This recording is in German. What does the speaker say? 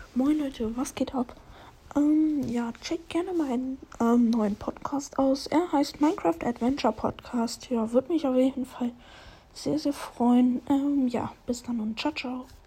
Moin Leute, was geht ab? Ja, checkt gerne meinen neuen Podcast aus. Er heißt Minecraft Adventure Podcast. Ja, würde mich auf jeden Fall sehr, sehr freuen. Ja, bis dann und ciao, ciao.